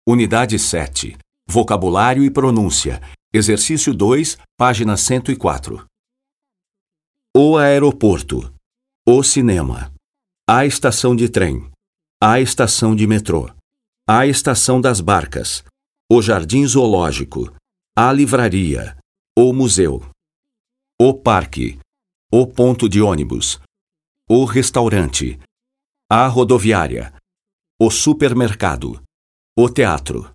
Unidade 7. Vocabulário e pronúncia. Exercício 2, página 104. O aeroporto. O cinema. A estação de trem. A estação de metrô. A estação das barcas. O jardim zoológico. A livraria. O museu. O parque. O ponto de ônibus. O restaurante. A rodoviária. O supermercado. O teatro.